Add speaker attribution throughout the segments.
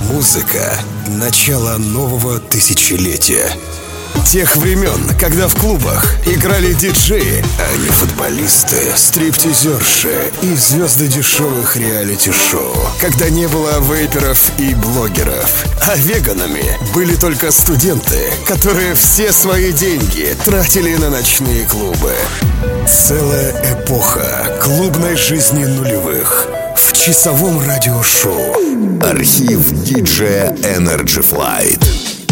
Speaker 1: Музыка — начало нового тысячелетия. Тех времен, когда в клубах играли диджеи, а не футболисты, стриптизерши и звезды дешевых реалити-шоу. Когда не было вейперов и блогеров. А веганами были только студенты, которые все свои деньги тратили на ночные клубы. Целая эпоха клубной жизни нулевых в часовом радиошоу. Архив диджея Energy Flight.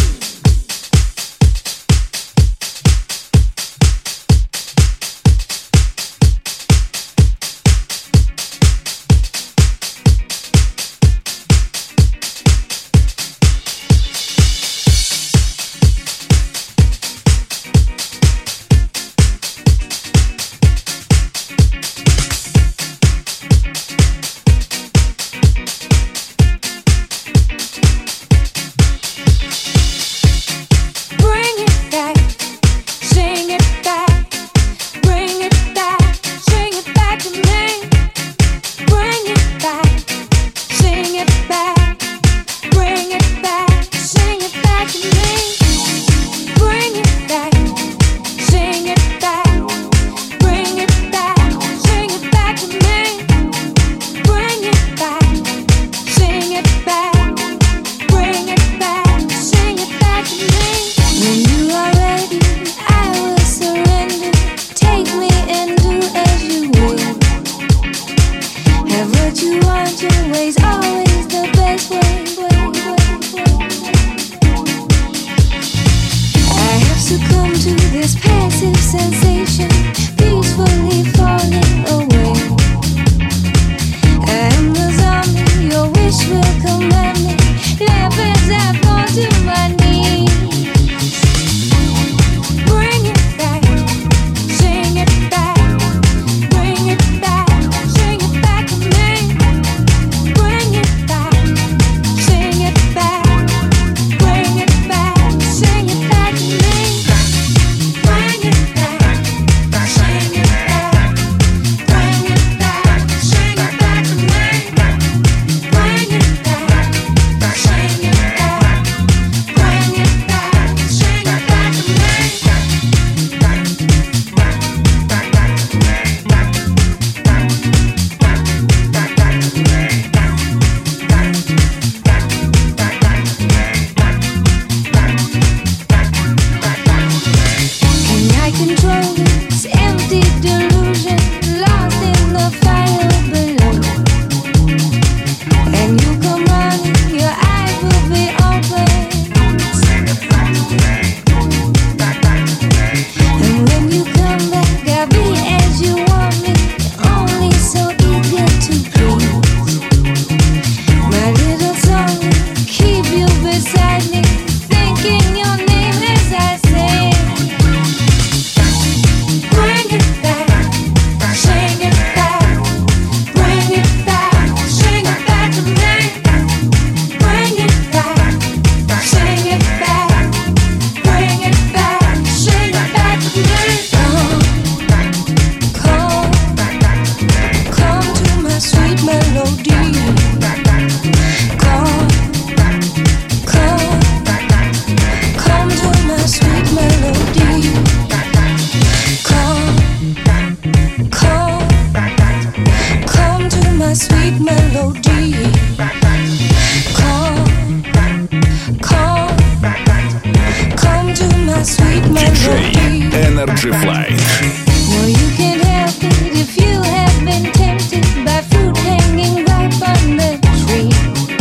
Speaker 2: Energy Flight.
Speaker 3: Well, you can't help it if you have been tempted by fruit hanging ripe on the tree.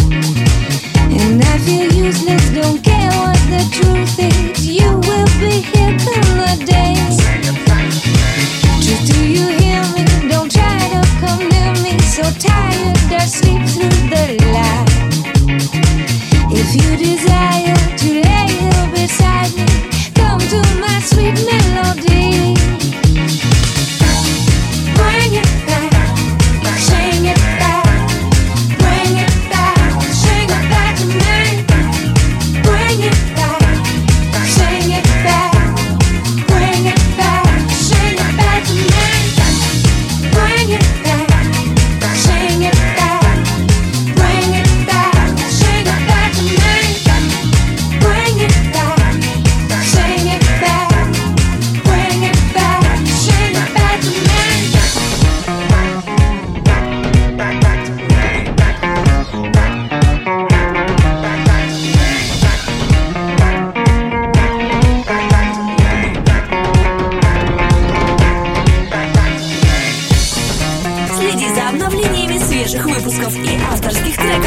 Speaker 3: And I feel useless, don't care what the truth is. You will be here come the day. Just do you hear me? Don't try to come near me. So tired, I sleep through the light. If you desire to lay here beside me, come to my sweet melody. Bring it back, sing it back. Bring it back, sing it back to me. Bring it back, sing it back. Bring it back, sing it back to me. Bring it back, sing it back. Bring it back, sing it back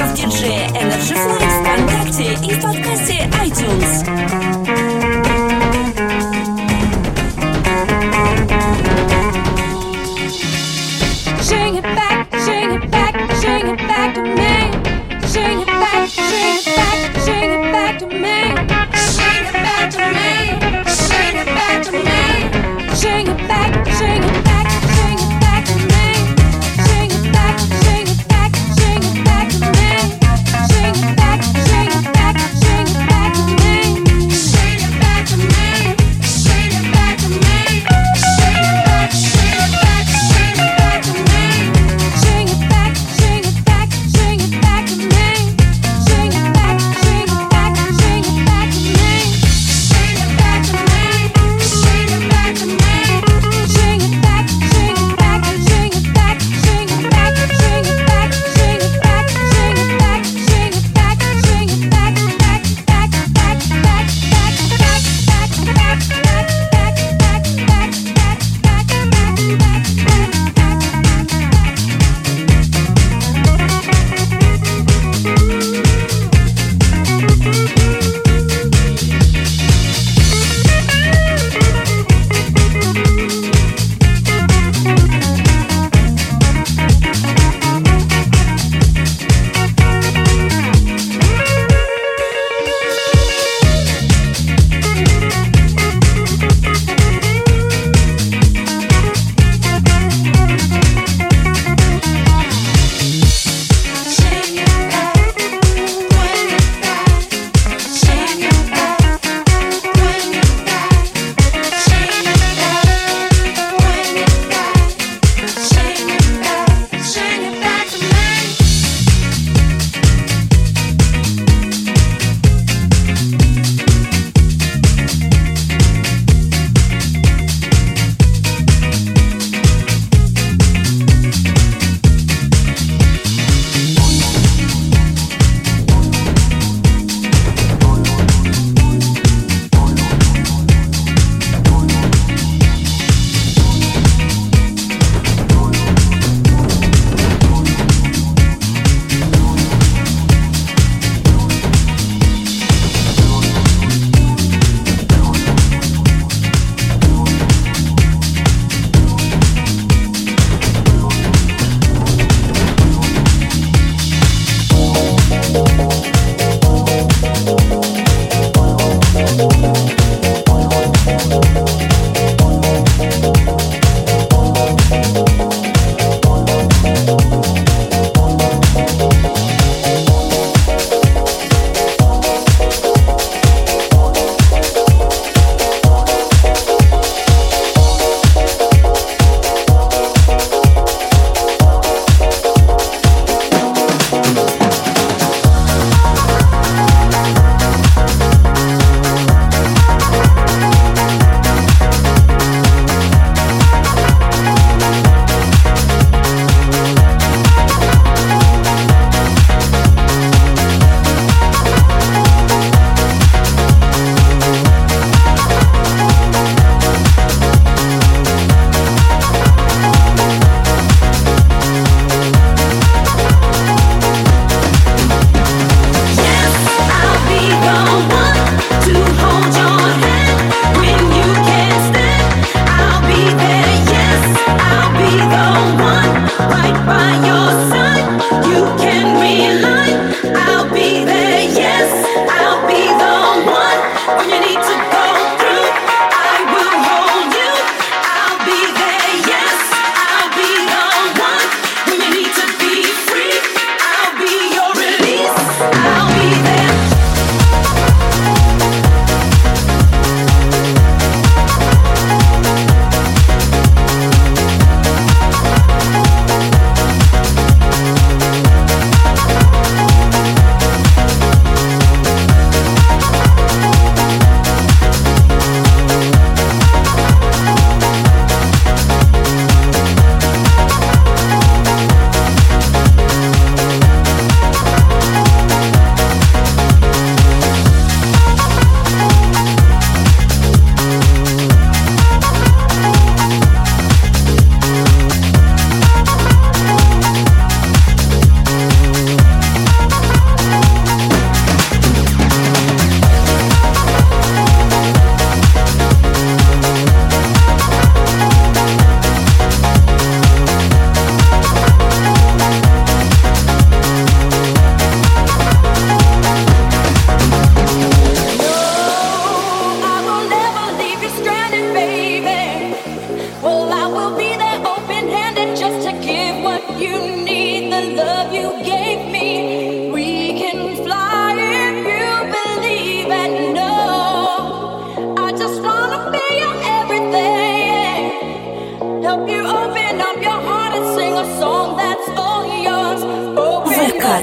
Speaker 2: диджея Energy Flight ВКонтакте и в подкасте iTunes.
Speaker 3: Sing it back, sing it back, sing it back to me. Sing it back, sing it back, sing it back to me. Sing it back to me, sing it back to me. Sing it back, sing it back, sing it back to me. Sing it back, sing it back, sing it back to me. Sing it back, sing it back, sing it back to me. Sing it back to me, sing it back to me. Sing it back, sing it back, sing it back to me. Sing it back, sing it back, sing it back to me. Sing it back, sing it back, sing it back to me. Sing it back to me, sing it back to me. Sing it back, sing it back, sing it back, sing it back, sing it back, sing it back, sing it back, sing it back, sing it back, back, back, back, back, back, back,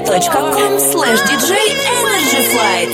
Speaker 2: facebook.com/DJ Energy Flight.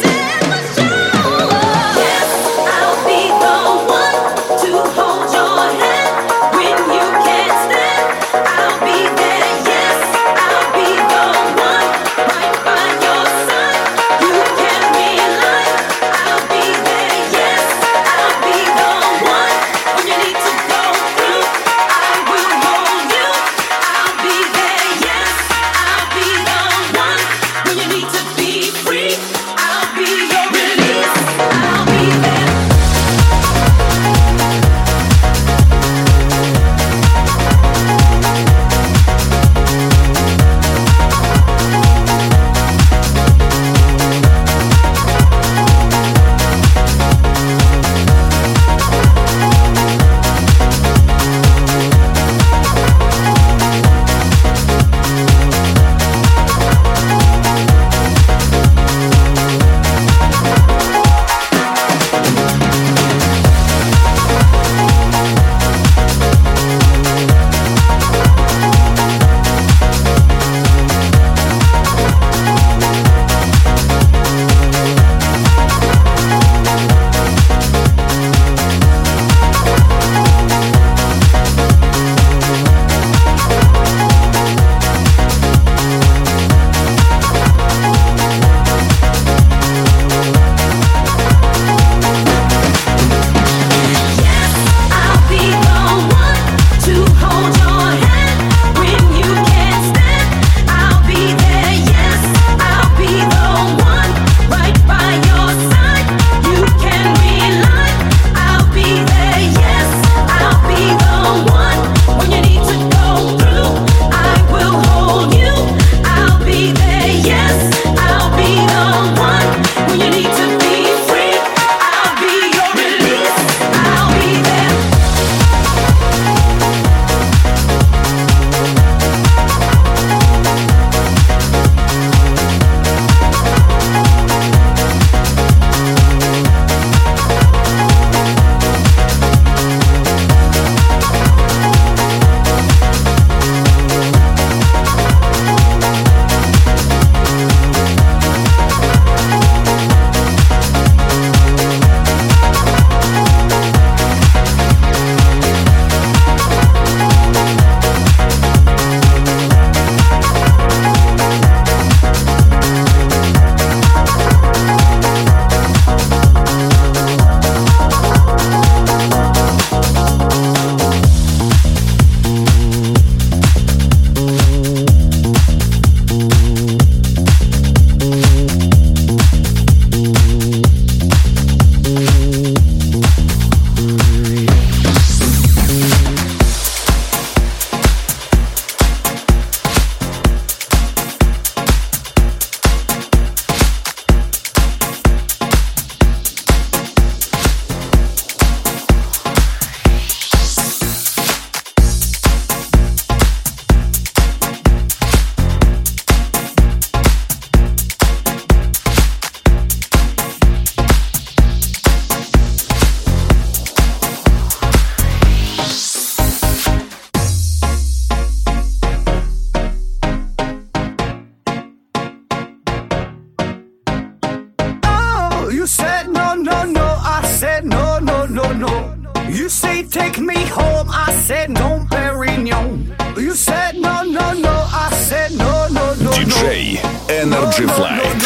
Speaker 4: You said no, no, no. I said no, no, no, no. You say take me home. I said no, Perignon. You said no, no, no. I said no, no, no, no.
Speaker 1: DJ Energy Flight.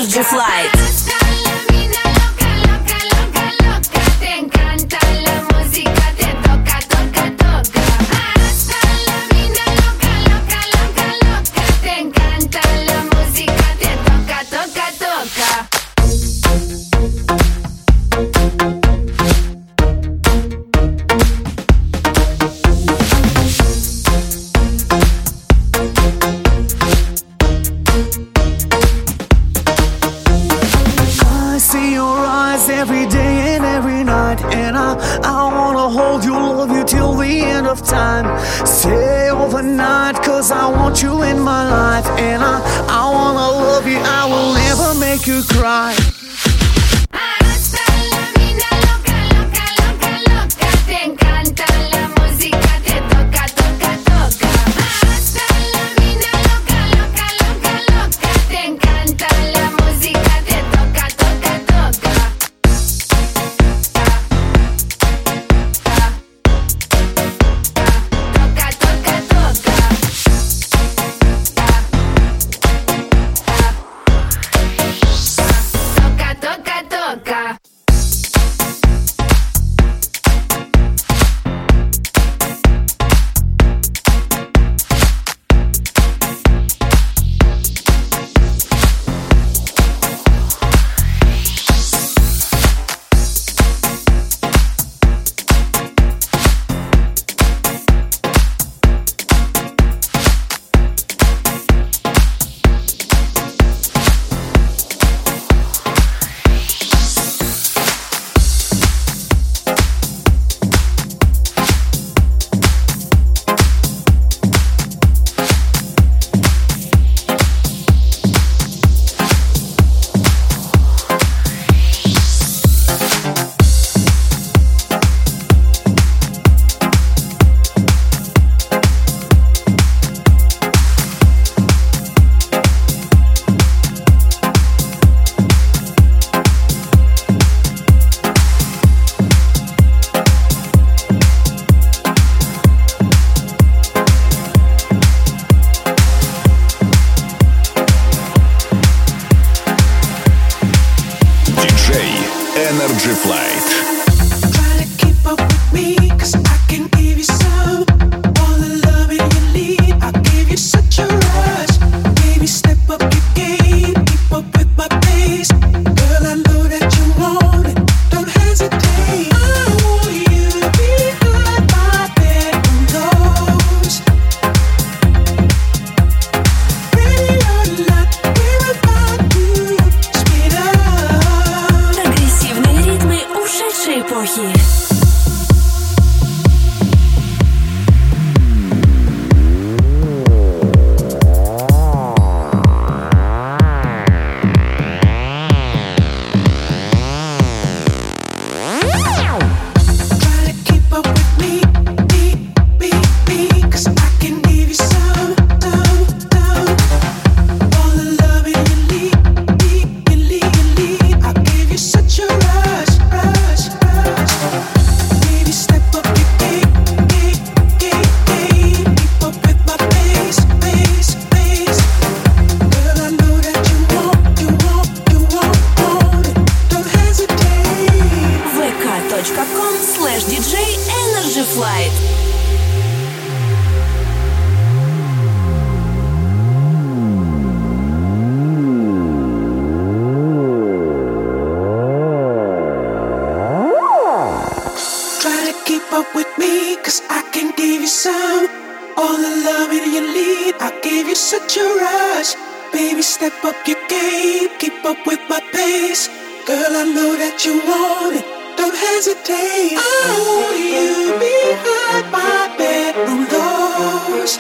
Speaker 2: Energy Flight.
Speaker 3: Hasta la mina loca, loca, loca, loca. Te encanta la música, te toca, toca, toca. Hasta la mina loca, loca, loca, loca. Te encanta la música, te toca, toca, toca.
Speaker 4: I see your eyes every day and every night, and I wanna hold you, love you till the end of time. Stay overnight, cause I want you in my life, and I wanna love you, I will never make you cry.
Speaker 3: Hasta la mina loca, loca, loca, loca. Te encanta la música, te toca, toca, toca. Hasta la mina loca, loca, loca, loca. Te encanta la música, te toca, toca, toca. Toca, toca, toca. Toca, toca, toca.
Speaker 1: Диджей Energy Flight.
Speaker 5: Try to keep up with me, 'cause I can give you some. All the loving you need, I gave you such a rush. Baby, step up your game, keep up with my pace. Girl, I know that you want it, don't hesitate. I want you behind my bedroom doors. Ready or not, we're about to speed up.
Speaker 2: Прогрессивные ритмы ушедшей эпохи.
Speaker 5: Try to keep up with me, 'cause I can give you some. All the loving you need, I gave you such a rush. Baby, step up your game, keep up with my pace. Girl, I know that you want it, don't hesitate.
Speaker 2: vk.com/DJ Energy Flight.
Speaker 5: Try to keep up with me, 'cause I can give you some. All the loving you need, I gave you such a rush. Baby, step up your game, keep up with my pace. Girl, I know that you want it, don't hesitate. I want you behind my bedroom doors.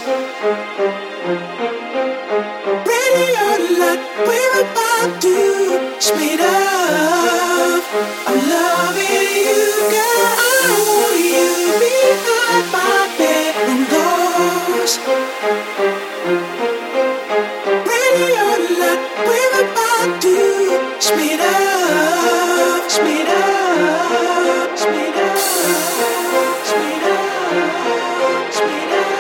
Speaker 5: Ready or not, we're about to speed up. I'm loving you, girl. I want you behind my bedroom doors. Ready or not, we're about to speed up, speed up, speed up, speed up, speed up,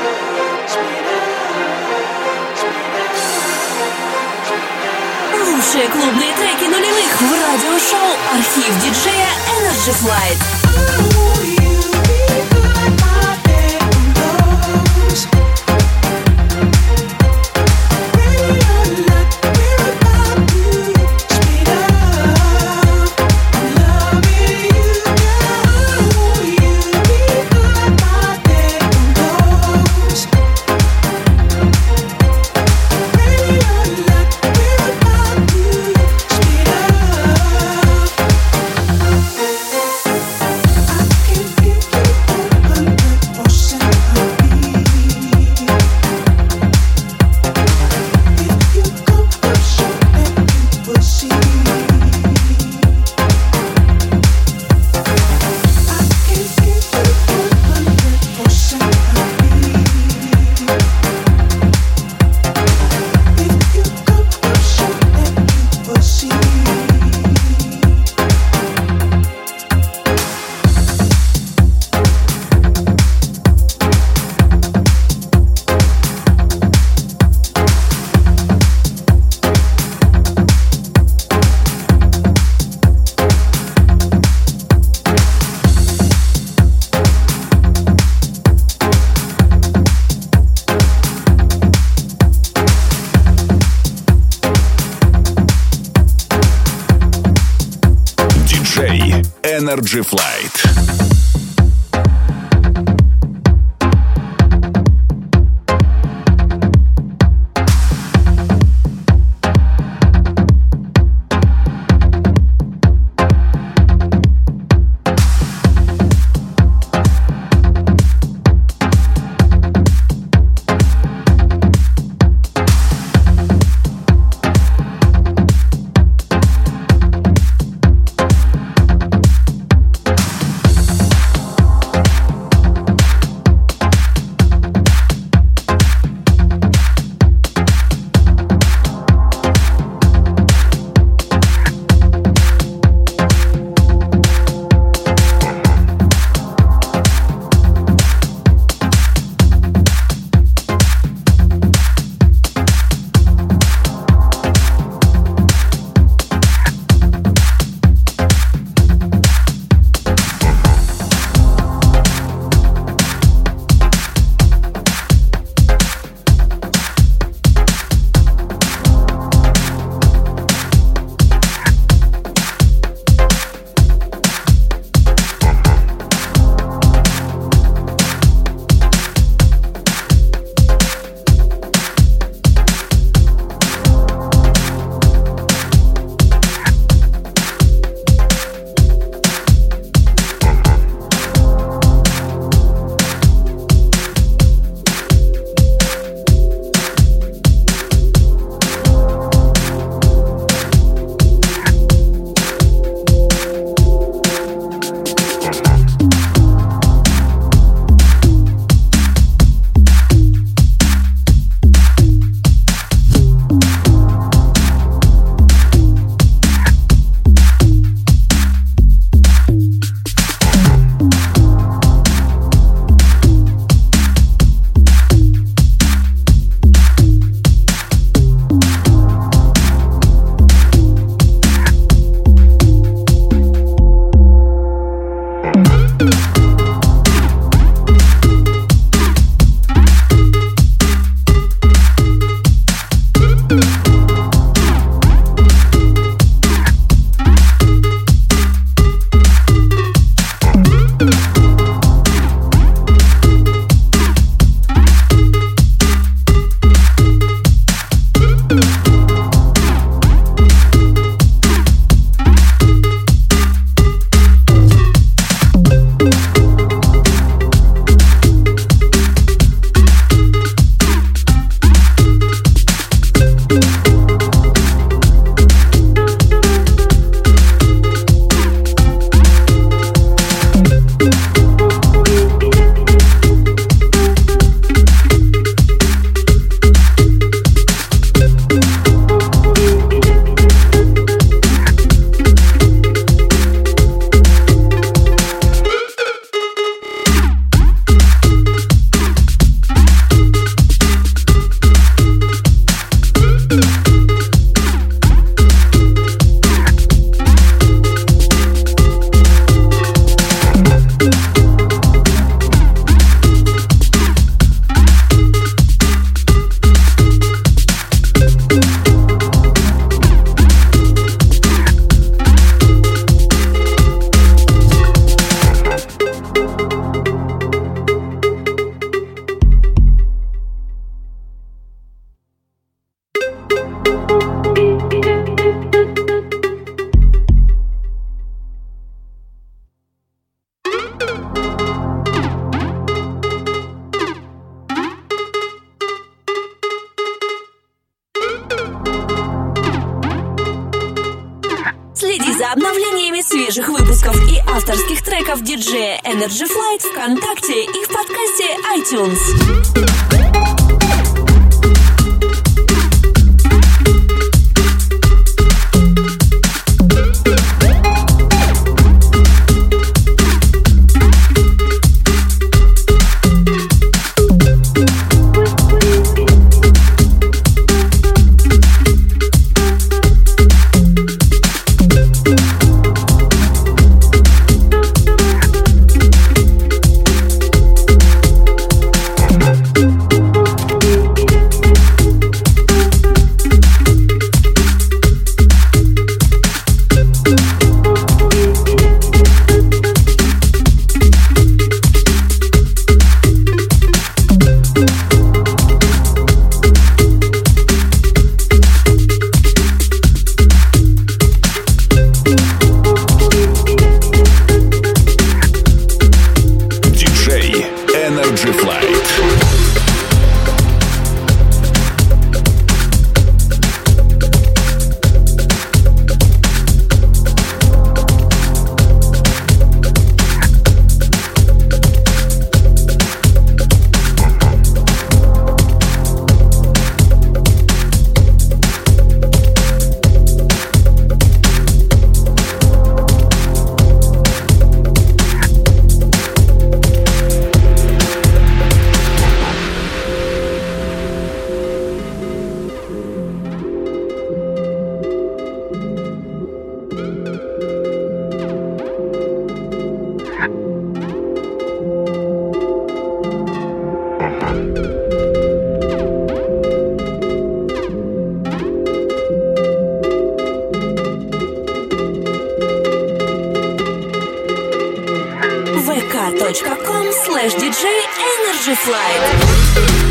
Speaker 5: speed up, speed up.
Speaker 2: Лучшие клубные треки нулевых в радиошоу «Архив диджея Energy Flight».
Speaker 6: Energy Flight.
Speaker 2: за обновлениями свежих выпусков и авторских треков диджея Energy Flight ВКонтакте и в подкасте iTunes. vk.com/DJ-Energy-Flight.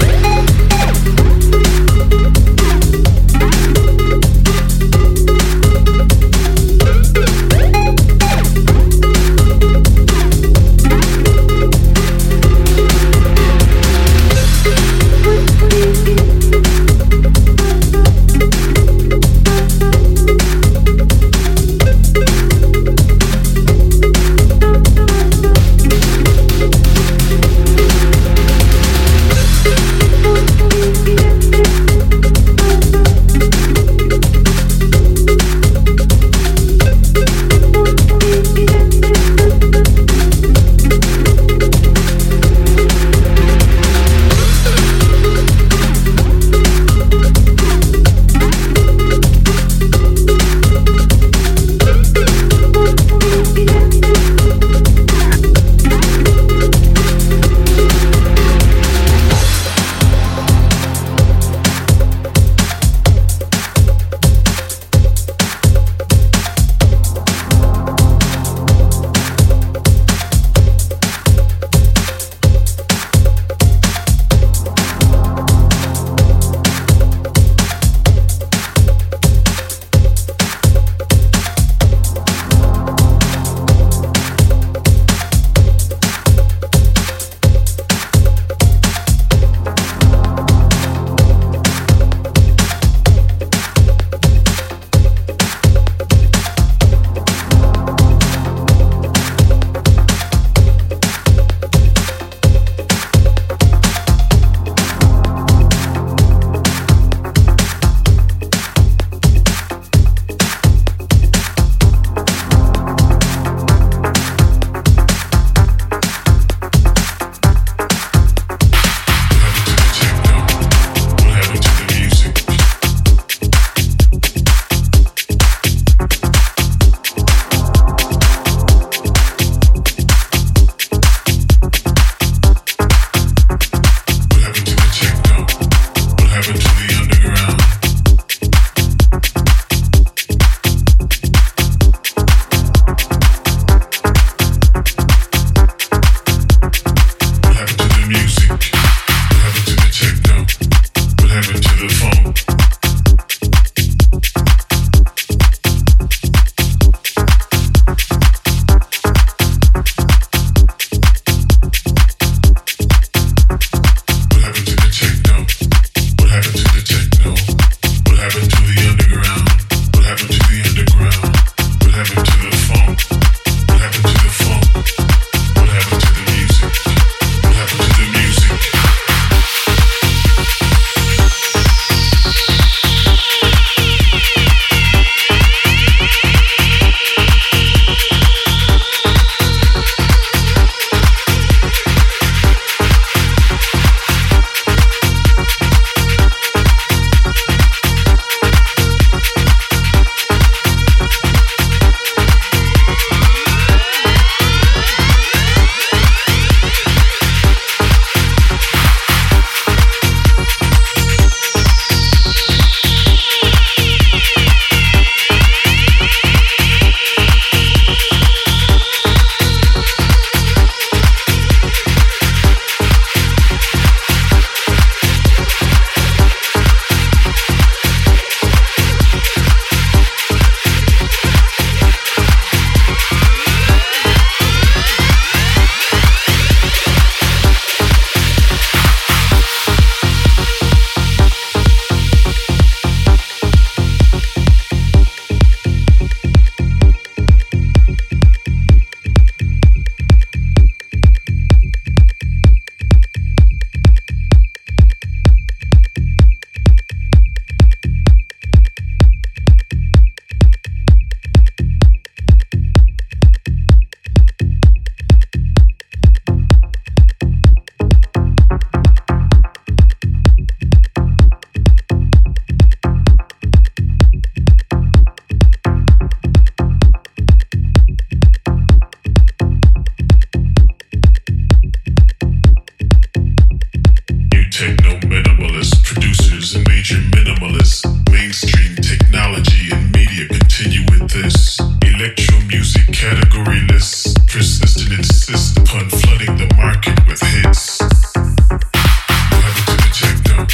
Speaker 7: techno minimalist producers and major minimalists. Mainstream technology and media continue with this. Electro music category lists persist and insist upon flooding the market with hits. What happened to the techno?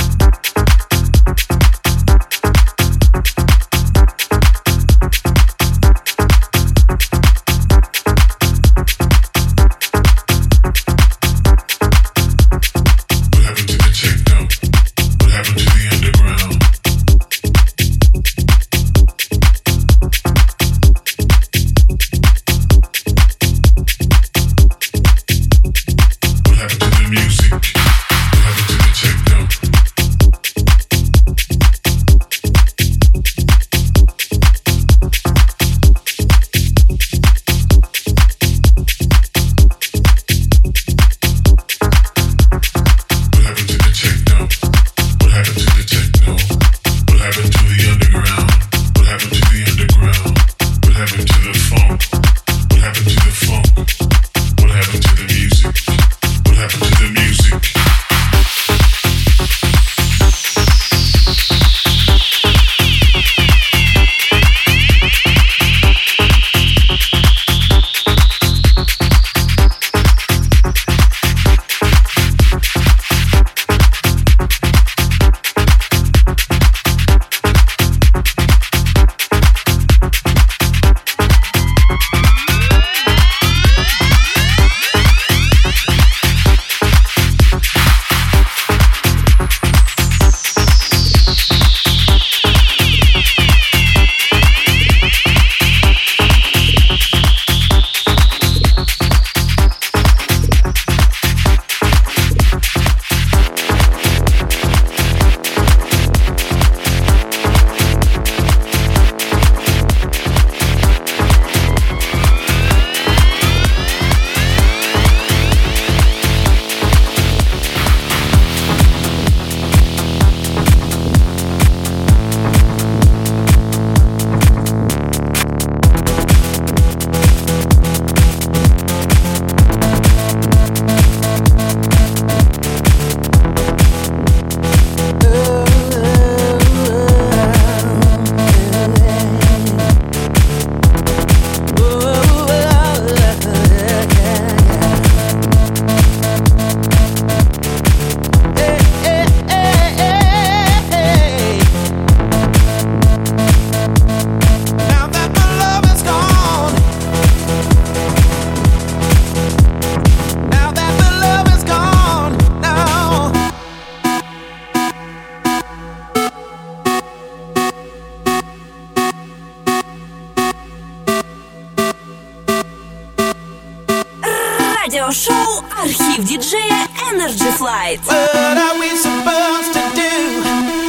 Speaker 2: Радиошоу «Архив диджея Energy Flight».
Speaker 5: What are we supposed to do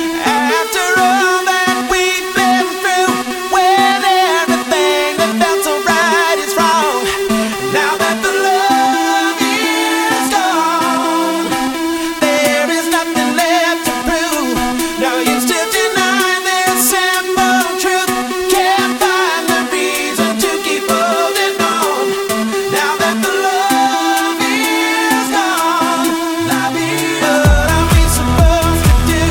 Speaker 5: after all that we've been through? When everything that felt so right is wrong. Now that the love is gone, there is nothing left to prove. Now you still deny this simple truth. Can't find the reason to keep holding on. Now that the love is gone, what are we supposed to do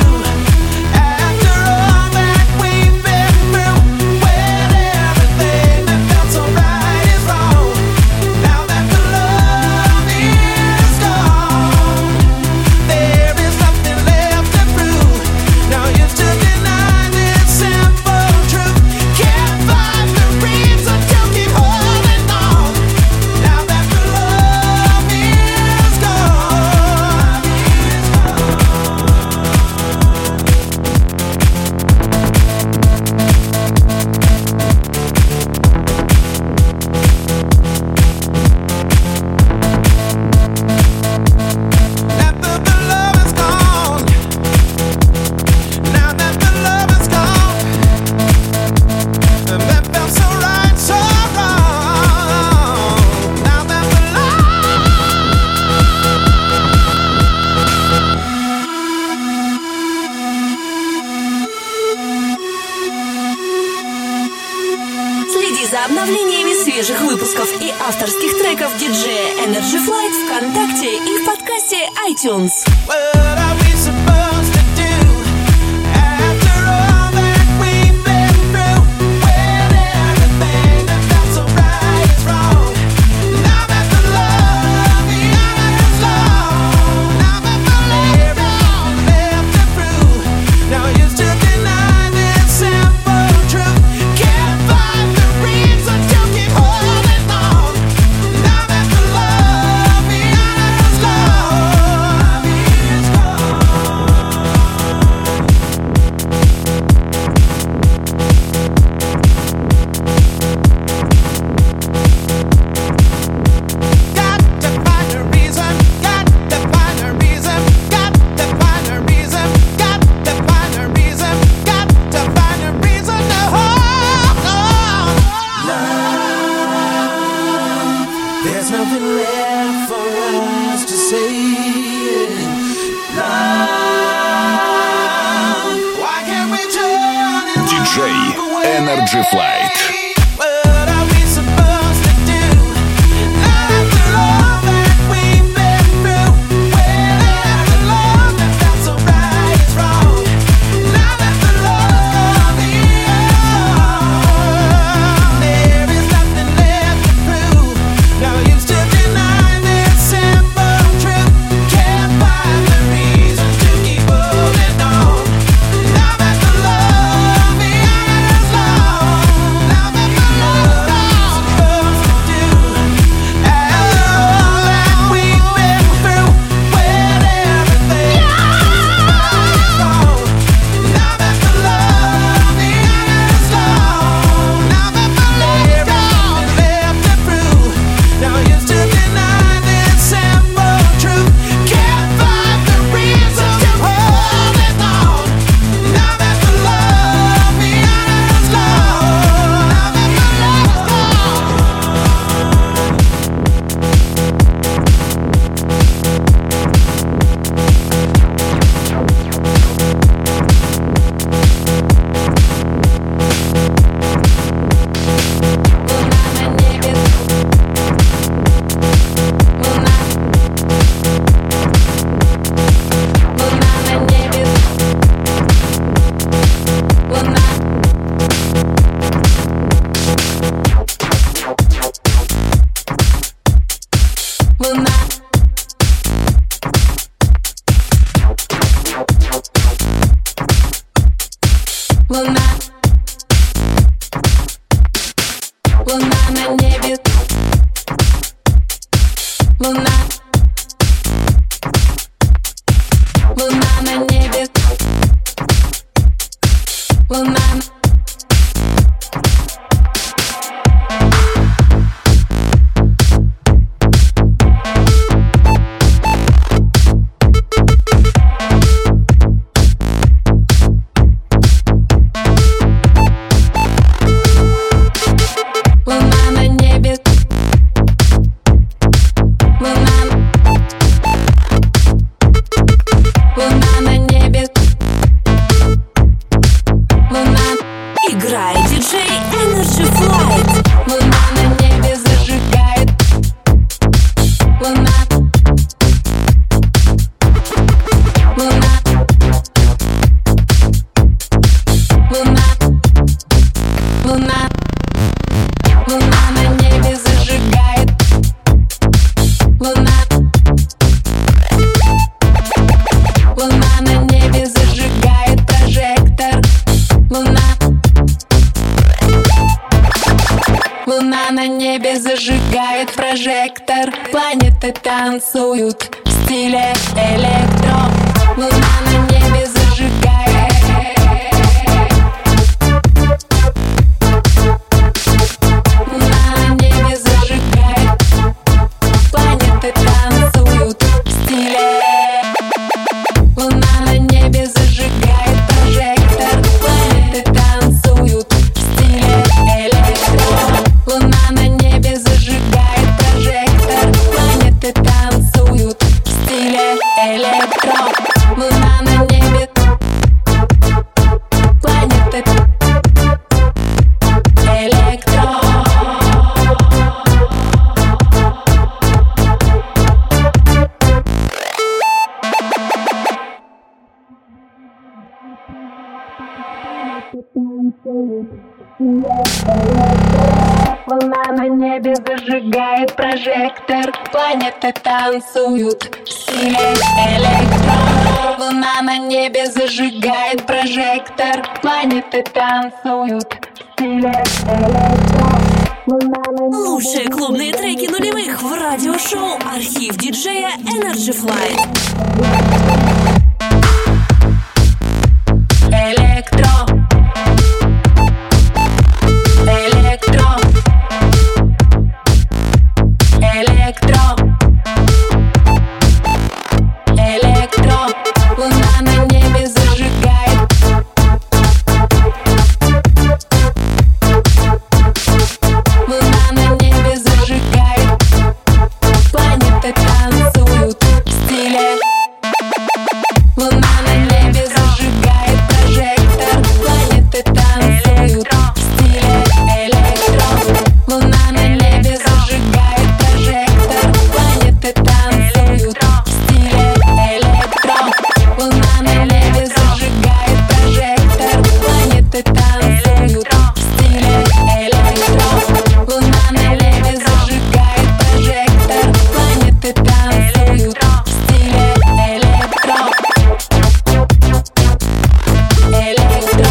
Speaker 5: after all that we've been through? When everything that felt so right is wrong. Now that the love is gone, there is nothing left to prove. Now you still deny this simple truth. Can't find the reason to keep holding on. Now that the love is gone. Now that the love is gone. Now that the love is gone. And that felt so right, so wrong. Now that the
Speaker 2: Следи за обновлениями свежих выпусков и авторских треков диджея Energy Flight ВКонтакте и в подкасте подкасте iTunes.
Speaker 6: Energy Flight.
Speaker 8: Зажигает прожектор, планеты танцуют в стиле электро. Луна на небе зажигает. Луна на небе зажигает. Планеты танцуют в стиле. Луна на небе зажигает прожектор. Планеты танцуют в стиле электро. Луна на небе зажигает прожектор. Планеты танцуют в стиле электро. Волна на небе зажигает прожектор. Планеты танцуют в стиле электро. Волна на небе зажигает прожектор. Планеты танцуют в стиле электро.
Speaker 2: Лучшие клубные треки нулевых в радиошоу «Архив диджея Energy Flight».
Speaker 8: Электро. Электро. Электро. Электро. Луна на небе зажигает. Луна на небе зажигает. Планеты танцуют в стиле. Луна на небе зажигает прожектор. Планеты танцуют в стиле электро. Луна на небе зажигает прожектор. Планеты танцуют в стиле электро. Луна на небе зажигает прожектор. Планеты танцуют в стиле электро. Луна на небе зажигает прожектор. Планеты танцуют в стиле электро. Электро.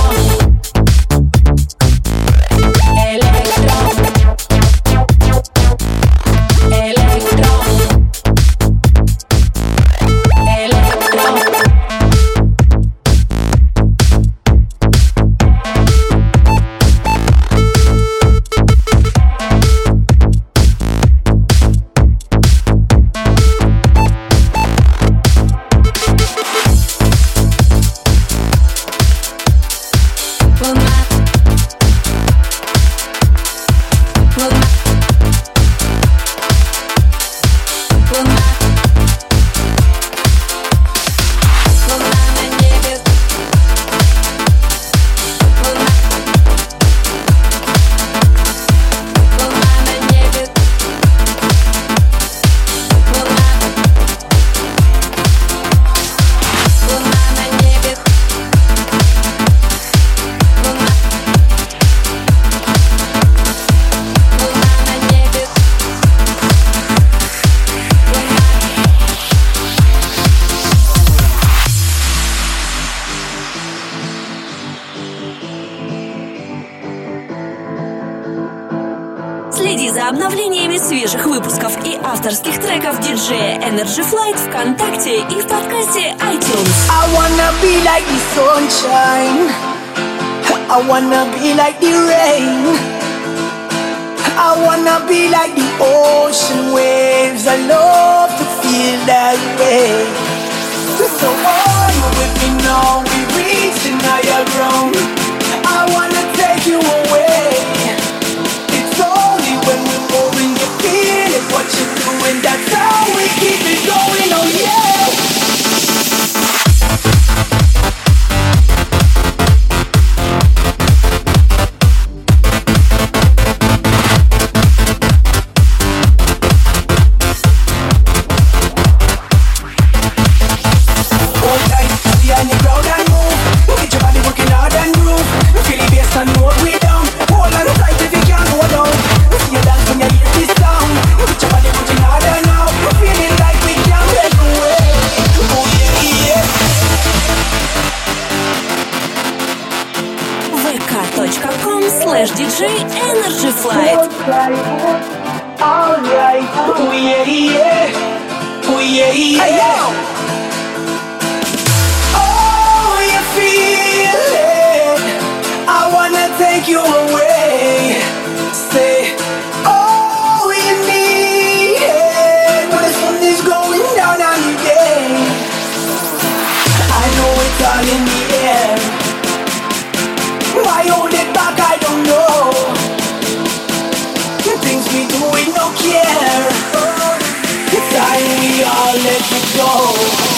Speaker 2: Следи за обновлениями свежих выпусков и авторских треков диджея Energy Flight ВКонтакте и в подкасте iTunes.
Speaker 9: I wanna be like the sunshine. I wanna be like the rain. I wanna be like the ocean waves. I love to feel that way. So are you with me now? We reaching higher ground. I wanna take you away. It's only when we're moving, you feel it, what you're doing. That's how we keep it going, oh yeah.
Speaker 2: vk.com/DJ Energy Flight.
Speaker 9: Alright, oh yeah, yeah, oh yeah, yeah. Oh, you feel it? I wanna take you away. Say, oh, you need it when the sun is going down on you, yeah. I know it's all in the air. Why hold it back? I don't know. Things we do with no care. It's time we all let it go.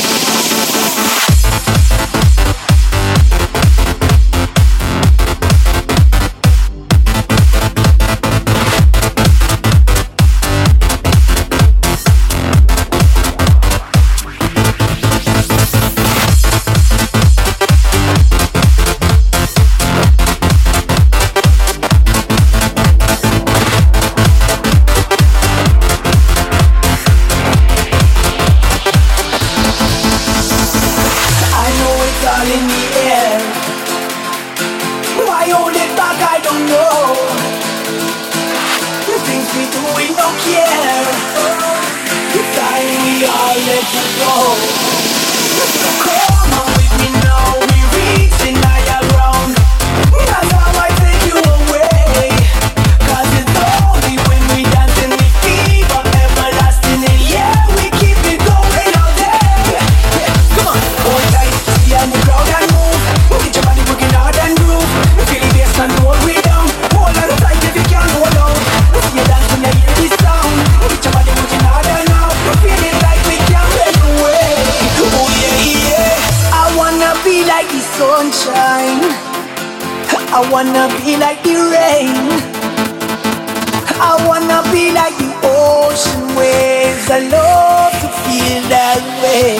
Speaker 9: know the things we do, we don't care. The time we all let it go. Come on with me now, we reaching higher ground. That's how I take you away. 'Cause it's only when we dance and we feel everlasting. And yeah, we keep it going all day. Come on, hold tight, see on the crowd and move. Get your body working hard and groove. Feel the bass and roll way down. Hold on tight if you can't hold on. See you dance when you hear this sound. Get your body working harder now. Feel it like we can't break away. Oh yeah, yeah. I wanna be like the sunshine. I wanna be like the rain. I wanna be like the ocean waves. I love to feel that way.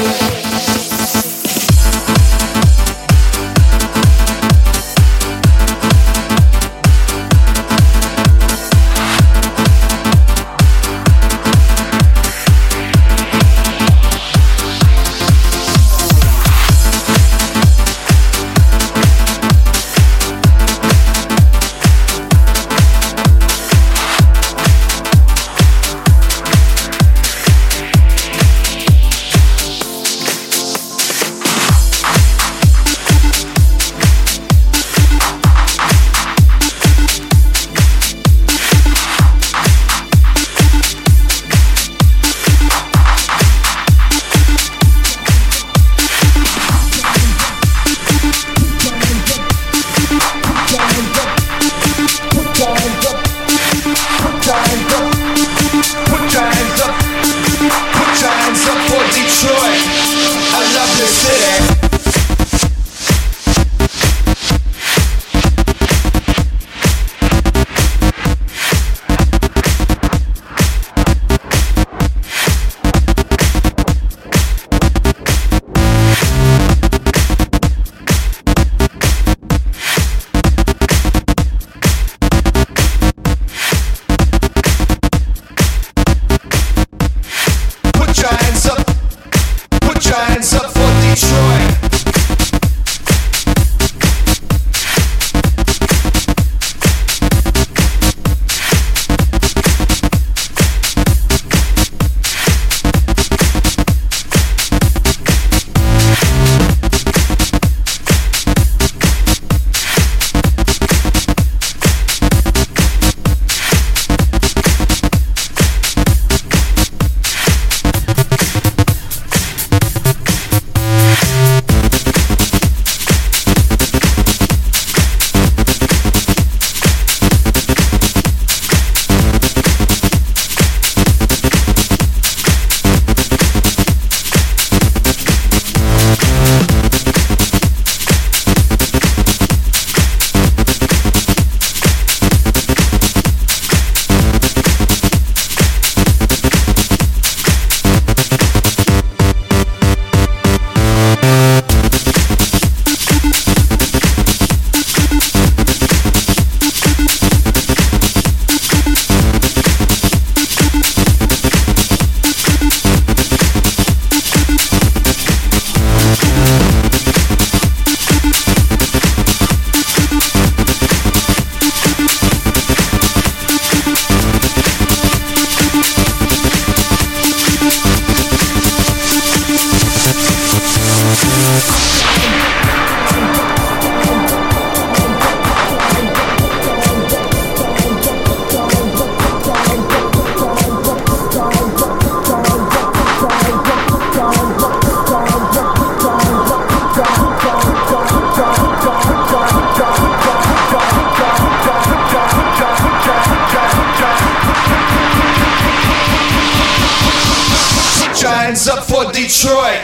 Speaker 10: Giants up for Detroit,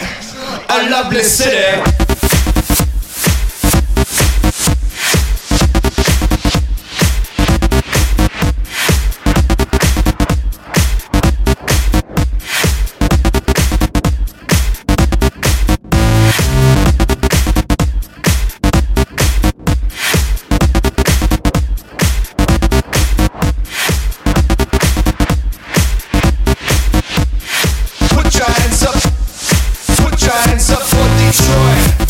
Speaker 10: a lovely city. Put your hands up for Detroit.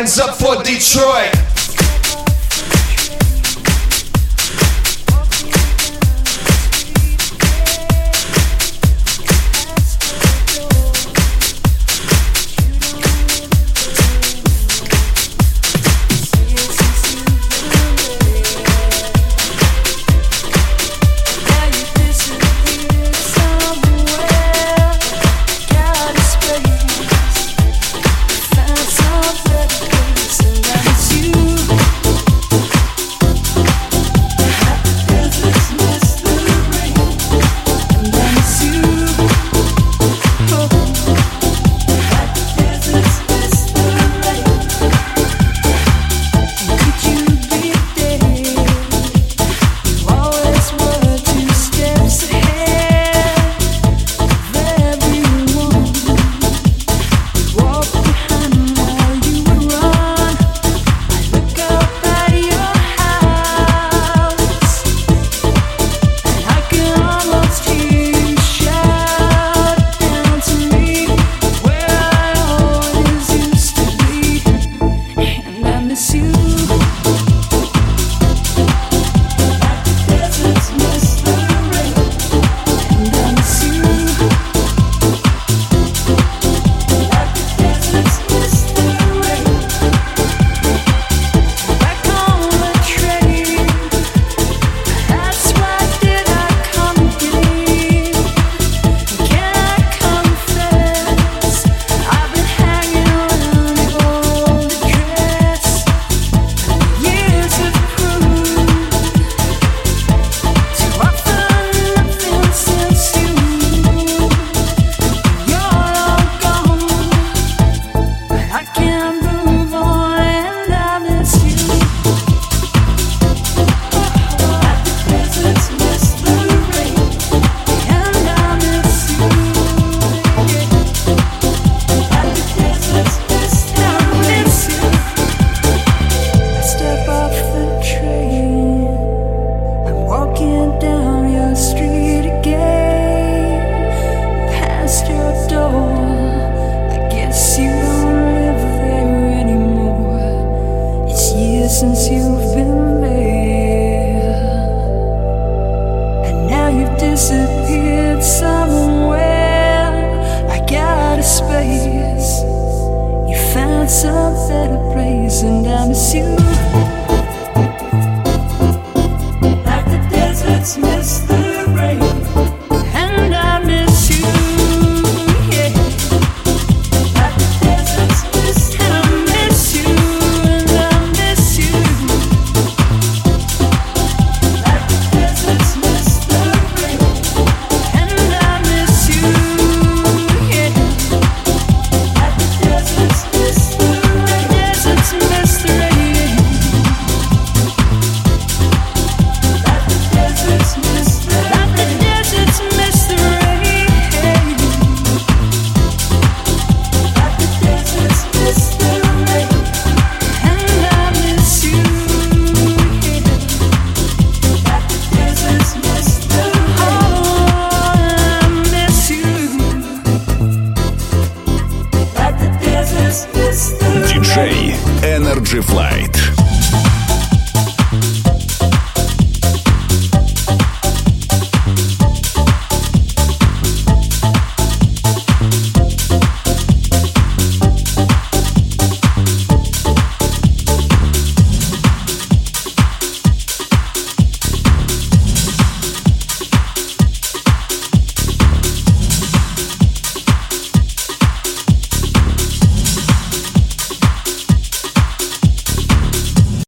Speaker 10: hands up for Detroit.
Speaker 11: Since you've been there, and now you've disappeared somewhere. I got a space, you found some better place, and I miss you.